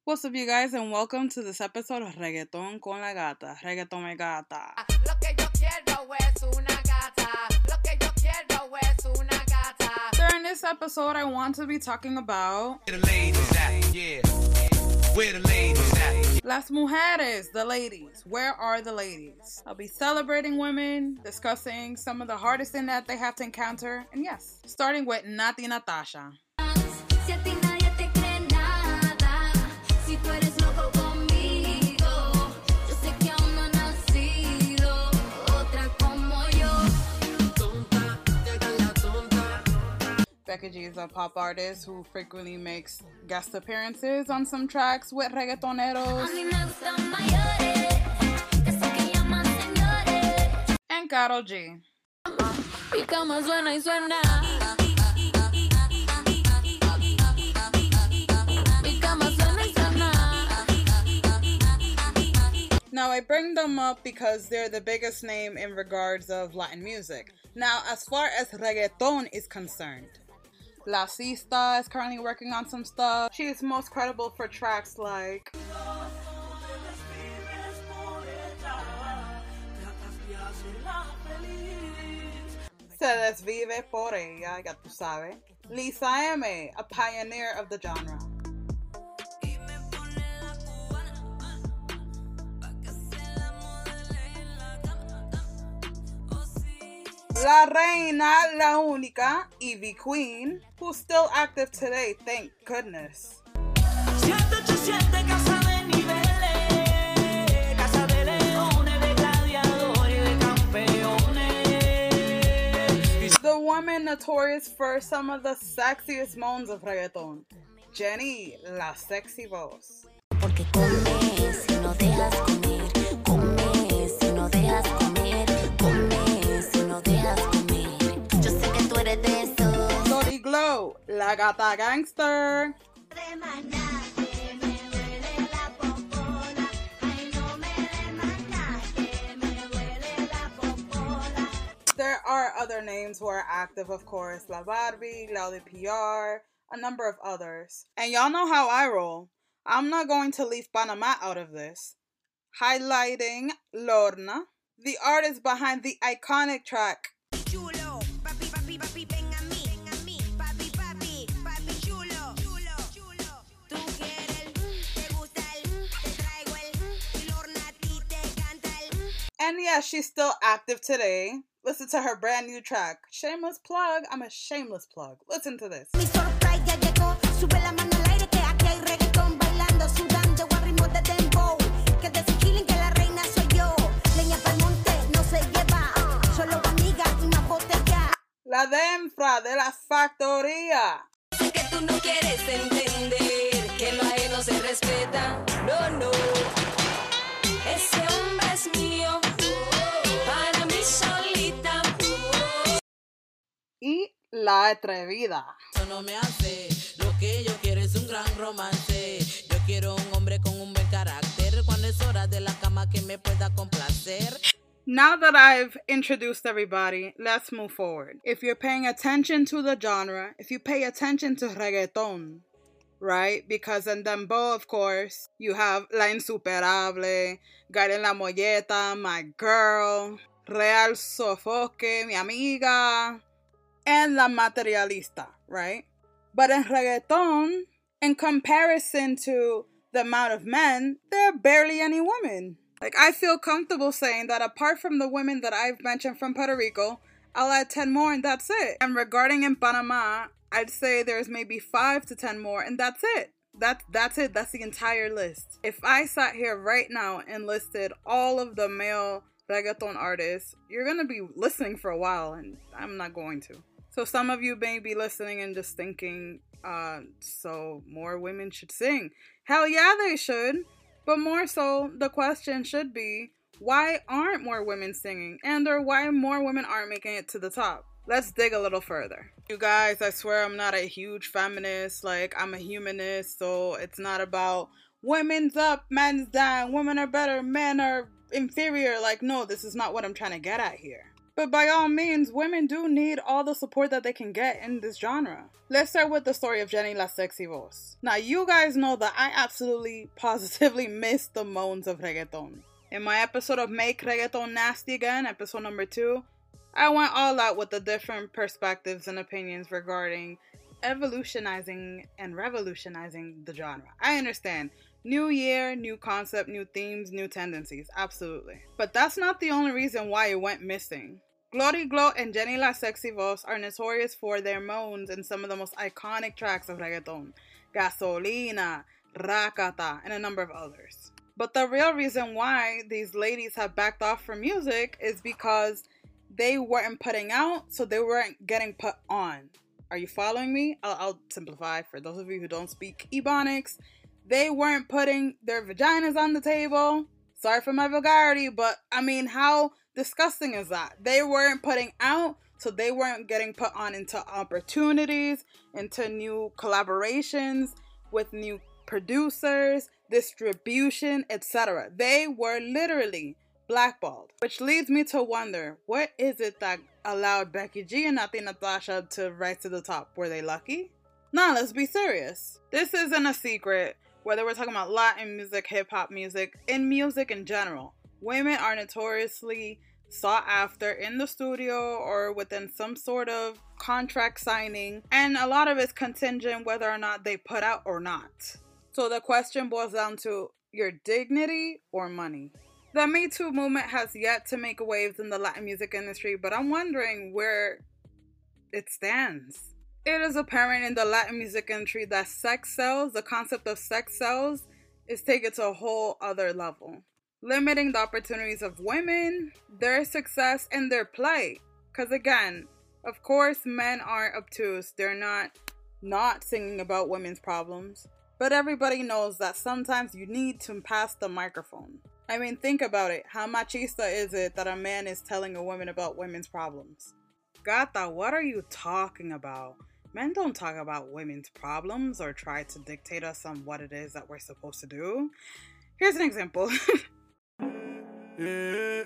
What's up, you guys, and welcome to this episode of Reggaeton con la Gata. Reggaeton me gata. Lo que yo quiero es una gata. Lo que yo quiero es una gata. During this episode, I want to be talking about Where the ladies at? Yeah. Where the ladies at? las mujeres, the ladies. Where are the ladies? I'll be celebrating women, discussing some of the hardest thing that they have to encounter, and yes, starting with Nati Natasha. Si a ti nadie te cree nada, si tú eres loco conmigo, yo sé que aún no ha nacido otra como yo. Tonta, te hagas la tonta. Becky G is a pop artist who frequently makes guest appearances on some tracks with A reggaetoneros. mí me gustan mayores, esos que llaman señores. And Karol G. Mi cama suena y suena. Mi cama suena y suena. Now, I bring them up because they're the biggest name in regards of Latin music. Now, as far as reggaeton is concerned, La Sista is currently working on some stuff. She is most credible for tracks like Se Desvive por Ella, ya tú sabes. Lisa M, a pioneer of the genre. La Reina, La Única, Ivy Queen, who's still active today, thank goodness. 787 casa de niveles, casa de leones, de gladiadores y de campeones. The woman notorious for some of the sexiest moans of reggaeton, Jenny, La Sexy Voz. Porque comes si no dejas comer, comes si no dejas comer, comes si no dejas comer. Yo sé que tú eres de esos. Lori Glow, La Gata Gangster. De maná, que me duele la popola. Ay, no me de maná, que me duele la popola. There are other names who are active, of course, La Barbie, Laudi PR, a number of others. And y'all know how I roll. I'm not going to leave Panama out of this. Highlighting Lorna, the artist behind the iconic track Chulo, papi, papi, papi, ven a mí, papi, papi, papi, chulo, chulo, chulo. Tú quieres, te gusta te traigo y Lorna a ti te canta And yeah, she's still active today. Listen to her brand new track. Shameless plug. I'm a shameless plug. Listen to this. Mi surprise ya llegó, sube la mano al aire que aquí hay reggaetón bailando, sudando a ritmo de dembow. Que de ese chilling que la reina soy yo. Leña pa'l monte no se lleva, solo amiga y más botella. La Denfra de la Factoría. Sé que tú no quieres entender que lo ajeno se respeta. No, no. Ese hombre es mío. Para mí solita. Y La Atrevida. Eso no me hace, lo que yo quiero es un gran romance. Yo quiero un hombre con un buen carácter, cuando es hora de la cama que me pueda complacer. Now that I've introduced everybody, let's move forward. If you're paying attention to the genre, if you pay attention to reggaeton, right? Because in dembow, of course, you have La Insuperable, Garen La Molleta, My Girl, Real Sofoque, Mi Amiga, and La Materialista, right? But in reggaeton, in comparison to the amount of men, there are barely any women. Like, I feel comfortable saying that apart from the women that I've mentioned from Puerto Rico, I'll add 10 more and that's it. And regarding in Panama, I'd say there's maybe 5 to 10 more and that's it. That's it. That's the entire list. If I sat here right now and listed all of the male reggaeton artists, you're gonna be listening for a while and I'm not going to. So some of you may be listening and just thinking, so more women should sing. Hell yeah, they should. But more so, the question should be, why aren't more women singing? And or why more women aren't making it to the top? Let's dig a little further. You guys, I swear I'm not a huge feminist. Like, I'm a humanist, so it's not about women's up, men's down, women are better, men are inferior. Like, no, this is not what I'm trying to get at here. But by all means, women do need all the support that they can get in this genre. Let's start with the story of Jenny La Sexy Voz. Now, you guys know that I absolutely, positively miss the moans of reggaeton. In my episode of Make Reggaeton Nasty Again, episode number 2, I went all out with the different perspectives and opinions regarding evolutionizing and revolutionizing the genre. I understand. New year, new concept, new themes, new tendencies. Absolutely. But that's not the only reason why it went missing. Glory Glow and Jenny La Sexy Voz are notorious for their moans in some of the most iconic tracks of reggaeton. Gasolina, Rakata, and a number of others. But the real reason why these ladies have backed off from music is because they weren't putting out, so they weren't getting put on. Are you following me? I'll simplify for those of you who don't speak Ebonics. They weren't putting their vaginas on the table. Sorry for my vulgarity, but I mean, how disgusting is that? They weren't putting out, so they weren't getting put on into opportunities, into new collaborations with new producers, distribution, etc. They were literally blackballed. Which leads me to wonder, what is it that allowed Becky G and Nati Natasha to rise to the top? Were they lucky? Nah, let's be serious. This isn't a secret. Whether we're talking about Latin music, hip-hop music, in music in general, women are notoriously sought after in the studio or within some sort of contract signing, and a lot of it's contingent whether or not they put out or not. So the question boils down to your dignity or money. The Me Too movement has yet to make waves in the Latin music industry, but I'm wondering where it stands. It is apparent in the Latin music industry that sex sells, the concept of sex sells, is taken to a whole other level. Limiting the opportunities of women, their success, and their plight. Because again, of course, men aren't obtuse. They're not singing about women's problems. But everybody knows that sometimes you need to pass the microphone. I mean, think about it. How machista is it that a man is telling a woman about women's problems? Gata, what are you talking about? Men don't talk about women's problems or try to dictate us on what it is that we're supposed to do. Here's an example. Yeah.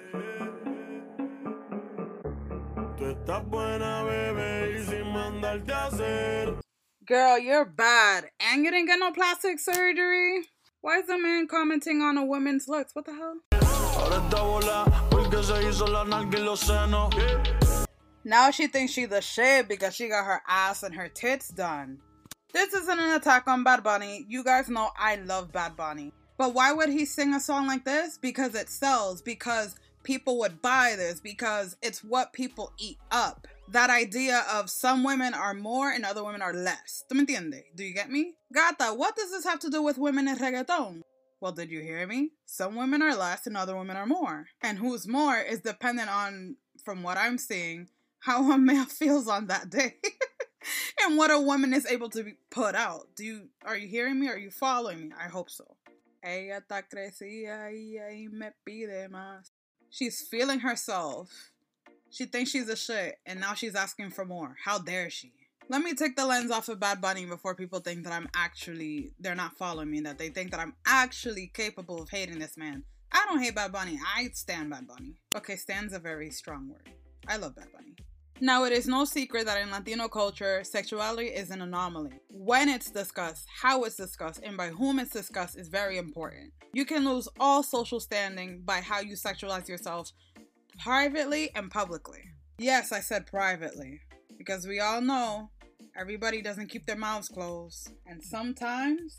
Tú estás buena, bebé, y sin mandarte a hacer. Girl, you're bad. And you didn't get no plastic surgery? Why is the man commenting on a woman's looks? What the hell? Ahora está bola, porque se hizo la nalga y los senos. Now she thinks she's the shit because she got her ass and her tits done. This isn't an attack on Bad Bunny. You guys know I love Bad Bunny. But why would he sing a song like this? Because it sells. Because people would buy this. Because it's what people eat up. That idea of some women are more and other women are less. ¿Tú me entiendes? Do you get me? Gata, what does this have to do with women in reggaeton? Well, did you hear me? Some women are less and other women are more. And who's more is dependent on, from what I'm seeing, how a male feels on that day. And what a woman is able to put out. Are you hearing me? Are you following me? I hope so. Ella está crecida y me pide más. She's feeling herself. She thinks she's a shit, and now she's asking for more. How dare she? Let me take the lens off of Bad Bunny before people think that they're not following me, that they think that I'm actually capable of hating this man. I don't hate Bad Bunny. I stan Bad Bunny. Okay, stan's a very strong word. I love Bad Bunny. Now, it is no secret that in Latino culture, sexuality is an anomaly. When it's discussed, how it's discussed, and by whom it's discussed is very important. You can lose all social standing by how you sexualize yourself privately and publicly. Yes, I said privately, because we all know everybody doesn't keep their mouths closed. And sometimes,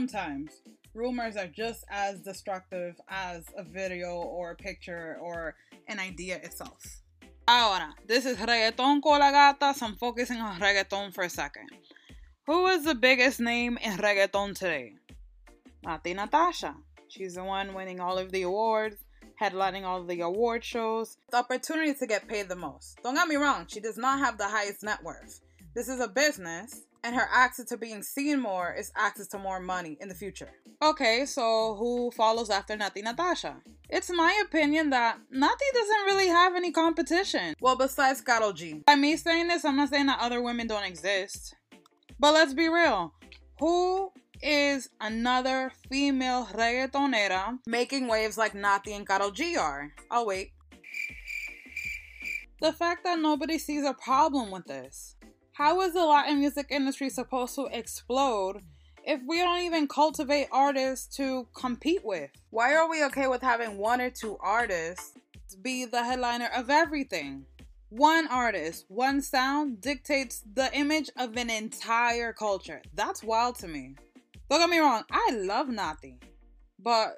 rumors are just as destructive as a video or a picture or an idea itself. Ahora, this is Reggaeton con la Gata, so I'm focusing on reggaeton for a second. Who is the biggest name in reggaeton today? Nati Natasha. She's the one winning all of the awards, headlining all of the award shows. The opportunity to get paid the most. Don't get me wrong, she does not have the highest net worth. This is a business, and her access to being seen more is access to more money in the future. Okay, so who follows after Nati Natasha? It's my opinion that Nati doesn't really have any competition. Well, besides Karol G. By me saying this, I'm not saying that other women don't exist. But let's be real. Who is another female reggaetonera making waves like Nati and Karol G are? I'll wait. The fact that nobody sees a problem with this. How is the Latin music industry supposed to explode if we don't even cultivate artists to compete with? Why are we okay with having one or two artists be the headliner of everything? One artist, one sound dictates the image of an entire culture. That's wild to me. Don't get me wrong, I love Nati, but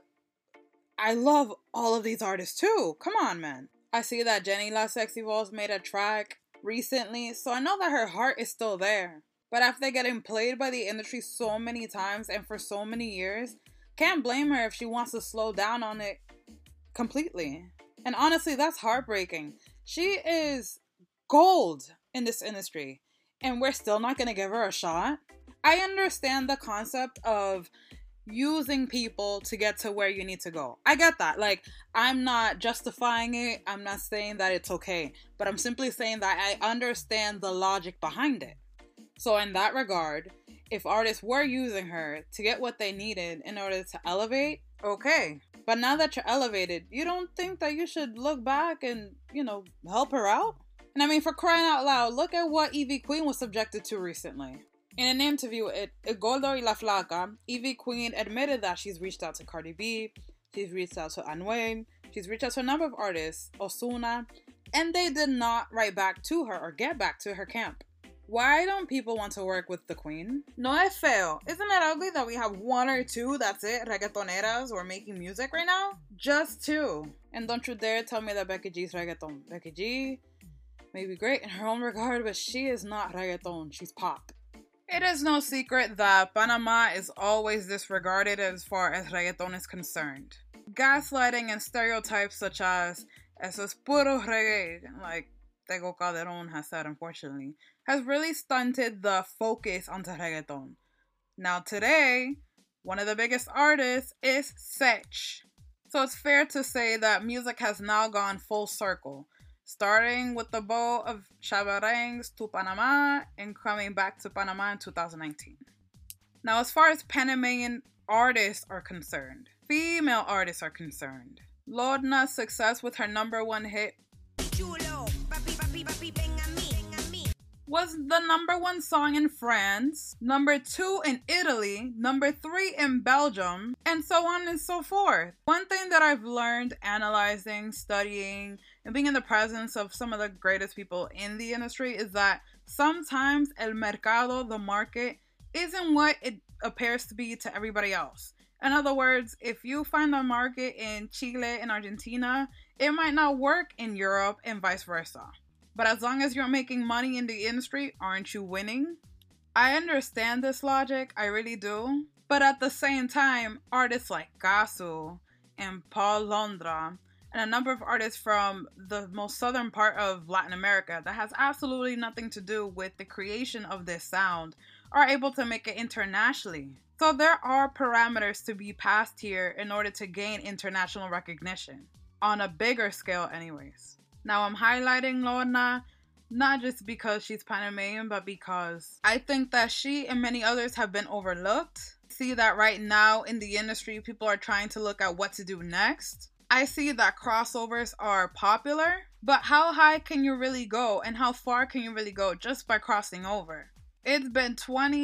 I love all of these artists too. Come on, man. I see that Jenny La Sexy Voz made a track recently, so I know that her heart is still there. But after getting played by the industry so many times and for so many years, can't blame her if she wants to slow down on it completely. And honestly, that's heartbreaking. She is gold in this industry, and we're still not gonna give her a shot. I understand the concept of using people to get to where you need to go. I get that. Like, I'm not justifying it. I'm not saying that it's okay. But I'm simply saying that I understand the logic behind it. So in that regard, if artists were using her to get what they needed in order to elevate, okay. But now that you're elevated, you don't think that you should look back and, help her out? And I mean, for crying out loud, look at what Ivy Queen was subjected to recently. In an interview at El Gordo y la Flaca, Ivy Queen admitted that she's reached out to Cardi B, she's reached out to Anuel, she's reached out to a number of artists, Ozuna, and they did not write back to her or get back to her camp. Why don't people want to work with the queen? No es feo. Isn't it ugly that we have one or two, that's it, reggaetoneras who are making music right now? Just two. And don't you dare tell me that Becky G's reggaeton. Becky G may be great in her own regard, but she is not reggaeton, she's pop. It is no secret that Panama is always disregarded as far as reggaeton is concerned. Gaslighting and stereotypes such as "eso es puro reggae," like Tego Calderon has said, unfortunately, has really stunted the focus onto reggaeton. Now today, one of the biggest artists is Sech. So it's fair to say that music has now gone full circle, starting with the bow of Chabarangs to Panama and coming back to Panama in 2019. Now, as far as Panamanian artists are concerned, female artists are concerned, Lorna's success with her #1 hit Chulo, papi, papi, papi, ven a mí. was the #1 song in France, #2 in Italy, #3 in Belgium, and so on and so forth. One thing that I've learned analyzing, studying, and being in the presence of some of the greatest people in the industry is that sometimes el mercado, the market, isn't what it appears to be to everybody else. In other words, if you find a market in Chile and Argentina, it might not work in Europe and vice versa. But as long as you're making money in the industry, aren't you winning? I understand this logic, I really do. But at the same time, artists like Gasu and Paul Londra and a number of artists from the most southern part of Latin America that has absolutely nothing to do with the creation of this sound are able to make it internationally. So there are parameters to be passed here in order to gain international recognition, on a bigger scale anyways. Now I'm highlighting Lorna, not just because she's Panamanian, but because I think that she and many others have been overlooked. See that right now in the industry, people are trying to look at what to do next. I see that crossovers are popular, but how high can you really go and how far can you really go just by crossing over? It's been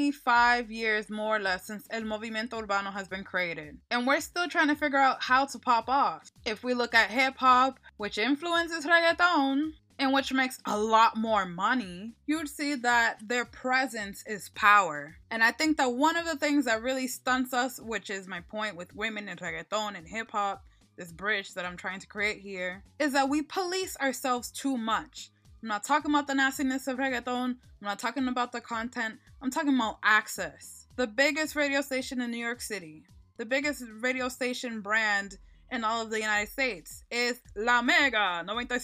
25 years more or less since El Movimiento Urbano has been created, and we're still trying to figure out how to pop off. If we look at hip-hop, which influences reggaeton, and which makes a lot more money, you'd see that their presence is power. And I think that one of the things that really stunts us, which is my point with women in reggaeton and hip-hop, this bridge that I'm trying to create here, is that we police ourselves too much. I'm not talking about the nastiness of reggaeton. I'm not talking about the content. I'm talking about access. The biggest radio station in New York City, the biggest radio station brand in all of the United States is La Mega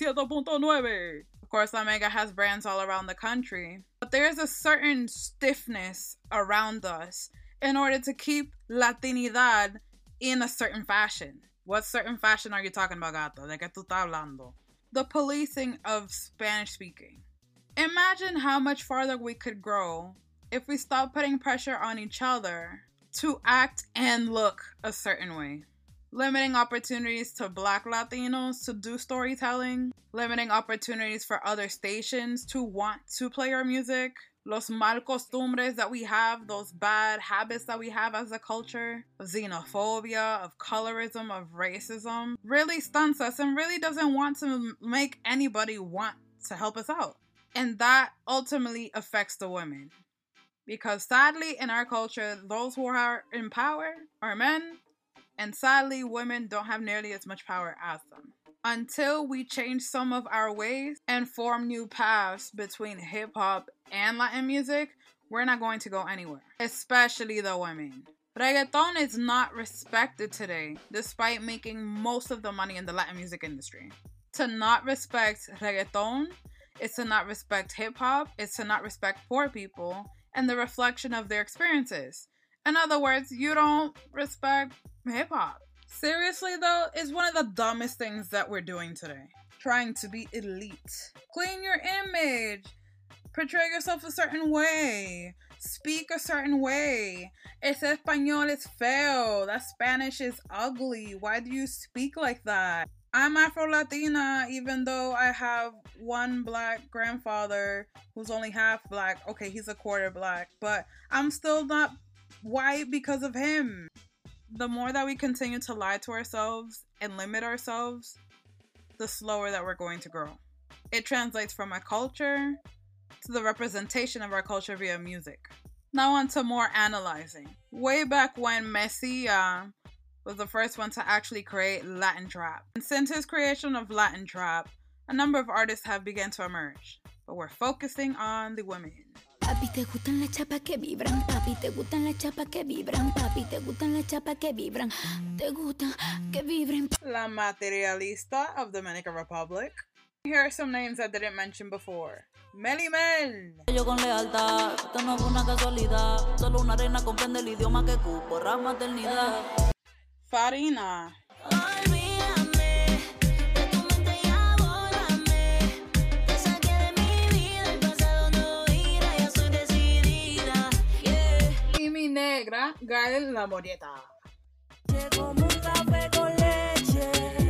97.9. Of course, La Mega has brands all around the country, but there's a certain stiffness around us in order to keep Latinidad in a certain fashion. What certain fashion are you talking about, gato? ¿De qué tú estás hablando? The policing of Spanish speaking. Imagine how much farther we could grow if we stopped putting pressure on each other to act and look a certain way. limiting opportunities to Black Latinos to do storytelling, limiting opportunities for other stations to want to play our music, los mal costumbres that we have, those bad habits that we have as a culture, of xenophobia, of colorism, of racism, really stunts us and really doesn't want to make anybody want to help us out. And that ultimately affects the women. Because sadly, in our culture, those who are in power are men, and sadly, women don't have nearly as much power as them. Until we change some of our ways and form new paths between hip-hop and Latin music, we're not going to go anywhere, especially the women. Reggaeton is not respected today, despite making most of the money in the Latin music industry. To not respect reggaeton is to not respect hip-hop, it's to not respect poor people, and the reflection of their experiences. In other words, you don't respect hip-hop. Seriously though, it's one of the dumbest things that we're doing today. Trying to be elite. Clean your image. Portray yourself a certain way. Speak a certain way. Ese español is feo. That Spanish is ugly. Why do you speak like that? I'm Afro-Latina, even though I have one Black grandfather who's only half Black. Okay, he's a quarter Black, but I'm still not white because of him. The more that we continue to lie to ourselves and limit ourselves, the slower that we're going to grow. It translates from our culture to the representation of our culture via music. Now on to more analyzing. Way back when Messia was the first one to actually create Latin trap. And since his creation of Latin trap, a number of artists have begun to emerge. But we're focusing on the women. Papi, te gustan las chapas que vibran. Papi, te gustan las chapas que vibran. Papi, te gustan las chapas que vibran. Te gustan que vibren. La Materialista of Dominican Republic. Here are some names I didn't mention before. Meli Mel. Yo con lealtad, esto no fue una casualidad. Solo una reina comprende el idioma que cupo, rama maternidad. Farina. Olvídame de tu mente y abórrame. Te saqué de mi vida, el pasado no irá, ya soy decidida. Yeah. Y mi negra, Gael La Morieta. Como un café con leche.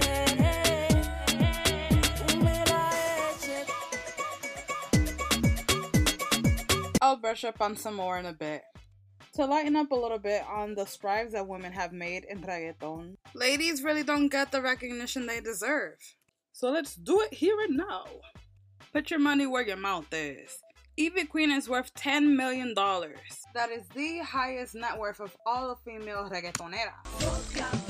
I'll brush up on some more in a bit. To lighten up a little bit on the strides that women have made in reggaeton, ladies really don't get the recognition they deserve. So let's do it here and now. Put your money where your mouth is. Ivy Queen is worth $10 million. That is the highest net worth of all the female reggaetoneras.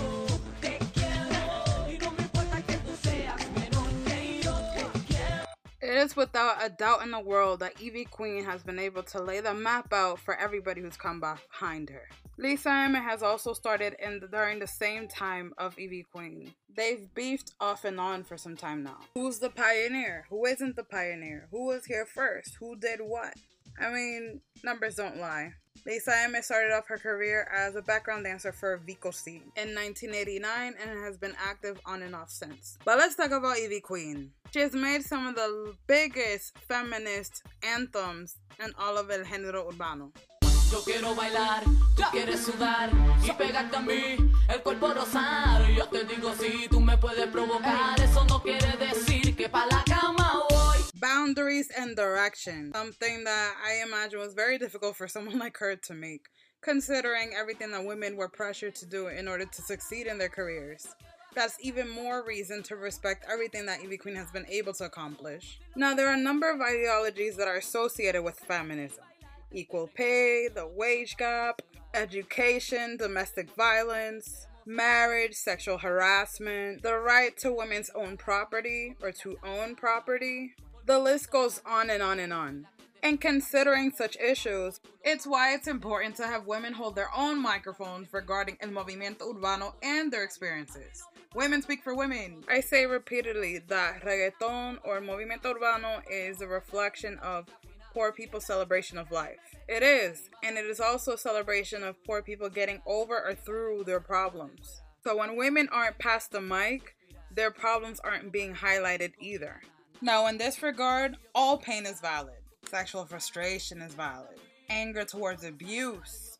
It is without a doubt in the world that Ivy Queen has been able to lay the map out for everybody who's come behind her. Lisa M has also started during the same time of Ivy Queen. They've beefed off and on for some time now. Who's the pioneer? Who isn't the pioneer? Who was here first? Who did what? I mean, numbers don't lie. Lisa M started off her career as a background dancer for Vico C in 1989 and has been active on and off since. But let's talk about Ivy Queen. She has made some of the biggest feminist anthems in all of el género urbano. Yo quiero bailar, tú quieres sudar y pegarte a mí, el cuerpo rozar. Yo te digo si tú me puedes provocar, eso no quiere decir que pa' la cama voy. Boundaries and direction. Something that I imagine was very difficult for someone like her to make, considering everything that women were pressured to do in order to succeed in their careers. That's even more reason to respect everything that Ivy Queen has been able to accomplish. Now, there are a number of ideologies that are associated with feminism. Equal pay, the wage gap, education, domestic violence, marriage, sexual harassment, the right to women's own property or to own property. The list goes on and on and on. And considering such issues, it's why it's important to have women hold their own microphones regarding el movimiento urbano and their experiences. Women speak for women. I say repeatedly that reggaeton or movimiento urbano is a reflection of poor people's celebration of life. It is, and it is also a celebration of poor people getting over or through their problems. So when women aren't past the mic, their problems aren't being highlighted either. Now, in this regard, all pain is valid. Sexual frustration is valid. Anger towards abuse,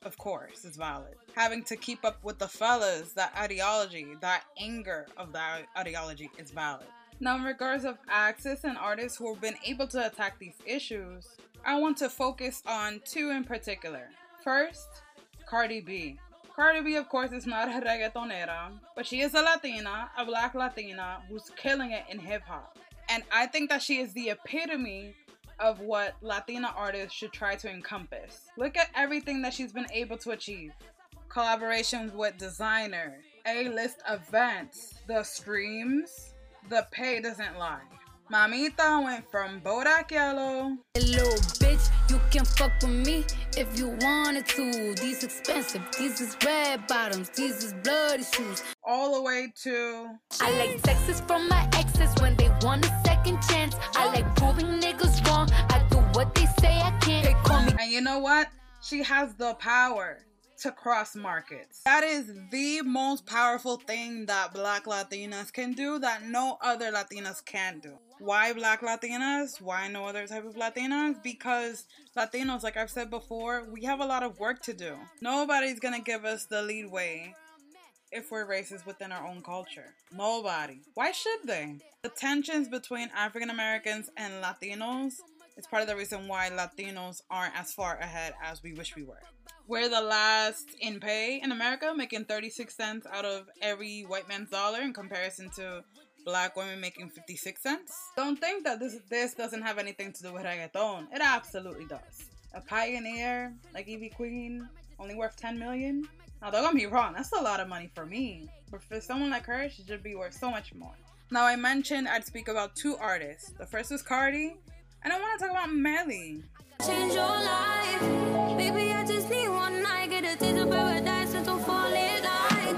of course, is valid. Having to keep up with the fellas, that ideology, that anger of that ideology is valid. Now, in regards of acts and artists who have been able to attack these issues, I want to focus on two in particular. First, Cardi B. Cardi B, of course, is not a reggaetonera, but she is a Latina, a black Latina, who's killing it in hip-hop. And I think that she is the epitome of what Latina artists should try to encompass. Look at everything that she's been able to achieve. Collaborations with designers, A-list events, the streams, the pay doesn't lie. Mamita went from Bodak Yellow. Little bitch, you can fuck with me if you wanted to. These expensive, these is red bottoms, these is bloody shoes. All the way to... I like texts from my exes when they want a second chance. I like proving niggas wrong. I do what they say I can't. They call me. And you know what? She has the power to cross markets. That is the most powerful thing that black Latinas can do that no other Latinas can do. Why black Latinas? Why no other type of Latinas? Because Latinos, like I've said before, we have a lot of work to do. Nobody's gonna give us the leadway if we're racist within our own culture. Nobody. Why should they? The tensions between African Americans and Latinos is part of the reason why Latinos aren't as far ahead as we wish we were. We're the last in pay in America, making 36 cents out of every white man's dollar in comparison to black women making 56 cents. Don't think that this doesn't have anything to do with reggaeton. It absolutely does. A pioneer like Ivy Queen, only worth 10 million? Now don't get me wrong, that's a lot of money for me. But for someone like her, she should be worth so much more. Now I mentioned I'd speak about two artists. The first was Cardi, and I want to talk about Melly. Change your life. Baby, I just need one night. Get a taste of paradise and to fall in line.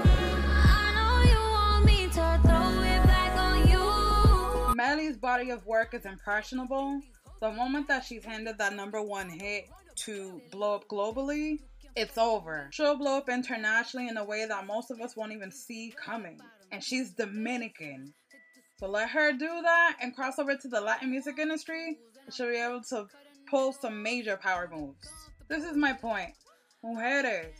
I know you want me to throw it back on you. Melly's body of work is impressionable. The moment that she's handed that #1 hit to blow up globally, it's over. She'll blow up internationally in a way that most of us won't even see coming. And she's Dominican. So let her do that and cross over to the Latin music industry. She'll be able to pull some major power moves. This is my point. Mujeres,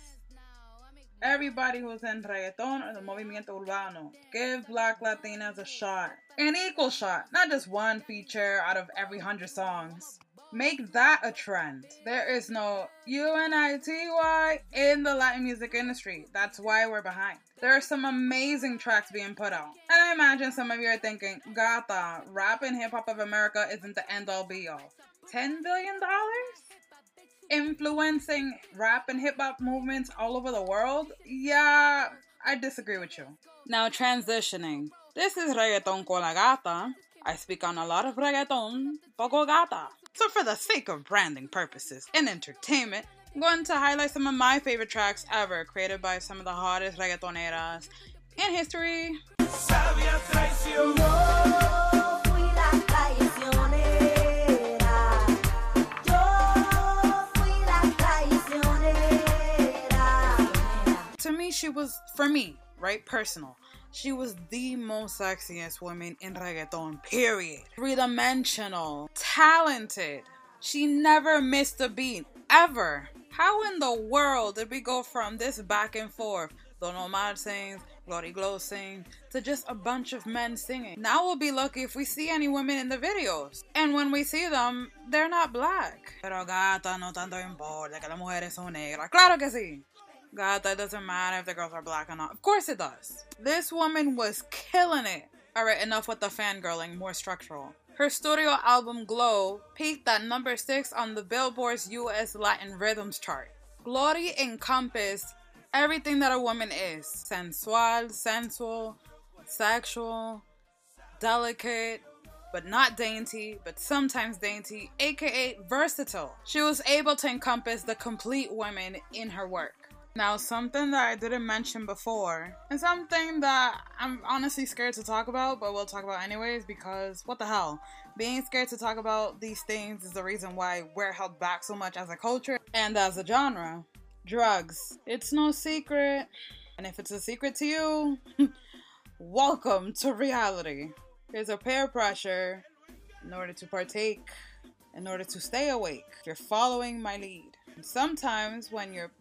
everybody who's in reggaeton or the movimiento urbano, give black Latinas a shot. An equal shot, not just one feature out of every 100 songs. Make that a trend. There is no UNITY in the Latin music industry. That's why we're behind. There are some amazing tracks being put out. And I imagine some of you are thinking, Gata, rap and hip hop of America isn't the end all be all. $10 billion? Influencing rap and hip hop movements all over the world? Yeah, I disagree with you. Now transitioning. This is Reggaeton con la Gata. I speak on a lot of reggaeton, poco gata. So for the sake of branding purposes and entertainment, I'm going to highlight some of my favorite tracks ever created by some of the hottest reggaetoneras in history. Sabia traición. Yo fui la traicionera. Yo fui la traicionera. To me, she was, for me, right, personal, she was the most sexiest woman in reggaeton, period. Three-dimensional, talented. She never missed a beat, ever. How in the world did we go from this back and forth, Don Omar sings, Glory Glow sings, to just a bunch of men singing? Now we'll be lucky if we see any women in the videos. And when we see them, they're not black. Pero gata, no tanto importa que las mujeres son negras. Claro que sí. Gata, it doesn't matter if the girls are black or not. Of course it does. This woman was killing it. Alright, enough with the fangirling, more structural. Her studio album Glow peaked at #6 on the Billboard's US Latin Rhythms chart. Glory encompassed everything that a woman is. Sensual, sensual, sexual, delicate, but not dainty, but sometimes dainty, aka versatile. She was able to encompass the complete woman in her work. Now, something that I didn't mention before, and something that I'm honestly scared to talk about, but we'll talk about anyways, because what the hell? Being scared to talk about these things is the reason why we're held back so much as a culture and as a genre. Drugs. It's no secret. And if it's a secret to you, welcome to reality. There's a peer pressure in order to partake, in order to stay awake. You're following my lead. And sometimes when you're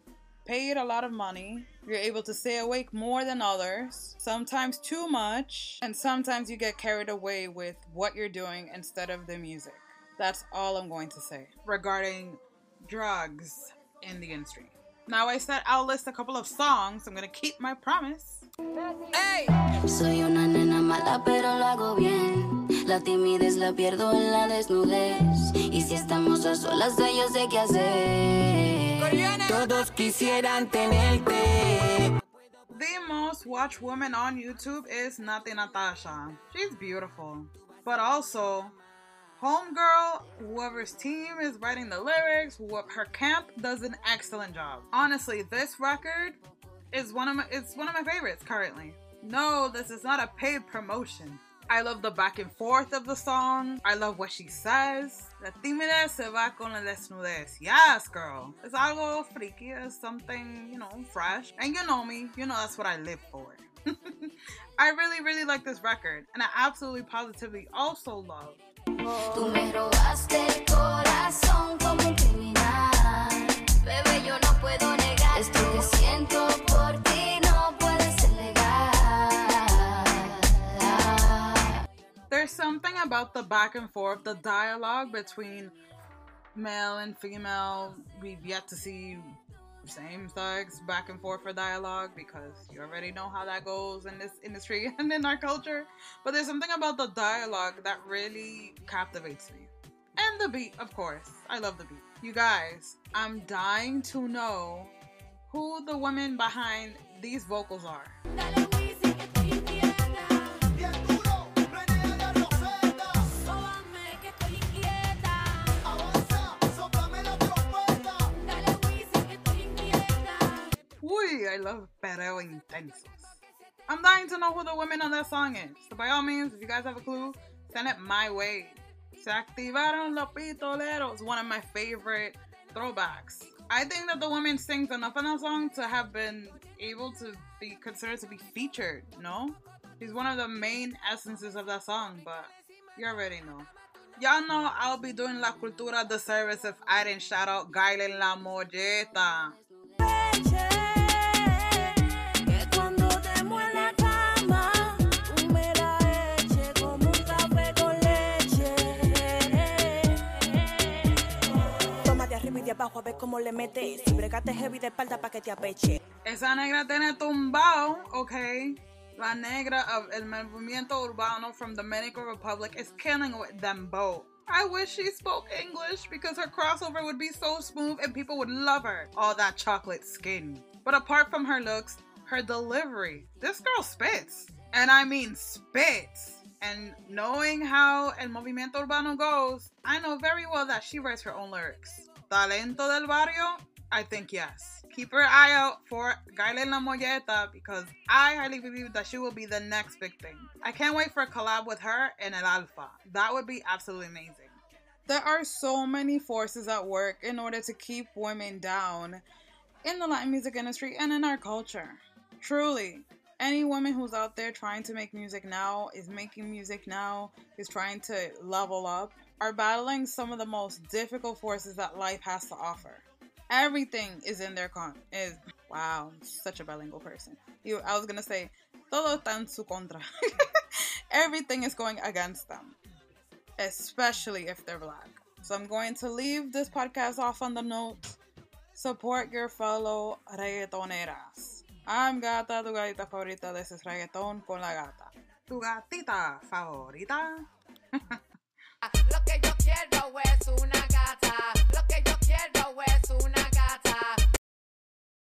paid a lot of money. You're able to stay awake more than others, sometimes too much, and sometimes you get carried away with what you're doing instead of the music. That's all I'm going to say regarding drugs in the industry. Now I said I'll list a couple of songs. I'm gonna keep my promise. Soy una nena mala pero lo hago bien. La timidez la pierdo en la desnudez. Y si estamos a solas yo sé qué hacer. Todos quisieran tenerte. The most watched woman on YouTube is Nati Natasha. She's beautiful. But also, Homegirl, whoever's team is writing the lyrics, her camp does an excellent job. Honestly, this record is one of my favorites currently. No, this is not a paid promotion. I love the back and forth of the song. I love what she says. La timidez se va con la desnudez. Yes, girl. It's algo freaky. It's something, fresh. And you know me. You know that's what I live for. I really, really like this record. And I absolutely, positively also love. Tú me robaste el corazón como un criminal. Bebé, yo no puedo negar. Esto que siento por ti no puede ser legal. There's something about the back and forth, the dialogue between male and female. We've yet to see same-sex back and forth for dialogue because you already know how that goes in this industry and in our culture. But there's something about the dialogue that really captivates me. And the beat, of course. I love the beat. You guys, I'm dying to know who the women behind these vocals are. I love perreo intensos. I'm dying to know who the women on that song is. So by all means, if you guys have a clue, send it my way. Se activaron los pistoleros. One of my favorite throwbacks. I think that the woman sings enough in that song to have been able to be considered to be featured, no? She's one of the main essences of that song, but you already know. Y'all know I'll be doing La Cultura disservice if I didn't shout out Gayle La Molleta. Abajo a ver cómo le metes. Si bregate heavy de espalda pa' que te apeche. Esa negra tiene tumbao, okay? La negra of el movimiento urbano from Dominican Republic is killing with them both. I wish she spoke English because her crossover would be so smooth and people would love her. All that chocolate skin. But apart from her looks, her delivery. This girl spits. And I mean spits. And knowing how el movimiento urbano goes, I know very well that she writes her own lyrics. Talento del barrio? I think yes. Keep your eye out for Gayle La Molleta because I highly believe that she will be the next big thing. I can't wait for a collab with her and El Alfa. That would be absolutely amazing. There are so many forces at work in order to keep women down in the Latin music industry and in our culture. Truly. Any woman who's out there trying to make music now, is making music now, is trying to level up, are battling some of the most difficult forces that life has to offer. Everything is in their wow, such a bilingual person. I was gonna say, todo está en su contra. Everything is going against them, especially if they're black. So I'm going to leave this podcast off on the note, support your fellow reggaetoneras. I'm Gata, tu gatita favorita. This is Reggaeton con la Gata. Tu gatita favorita. Lo que yo quiero es una gata